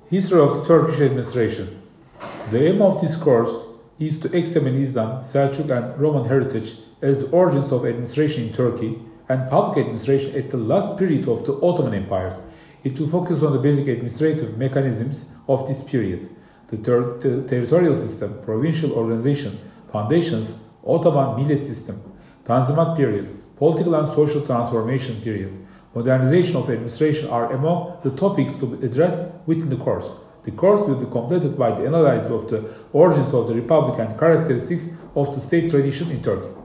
History of the Turkish administration. The aim of this course is to examine Islam, Seljuk and Roman heritage as the origins of administration in Turkey and public administration at the last period of the Ottoman Empire. It will focus on the basic administrative mechanisms of this period, the territorial system, provincial organization, foundations, Ottoman millet system, Tanzimat period, political and social transformation period, modernization of administration are among the topics to be addressed within the course. The course will be completed by the analysis of the origins of the republic and characteristics of the state tradition in Turkey.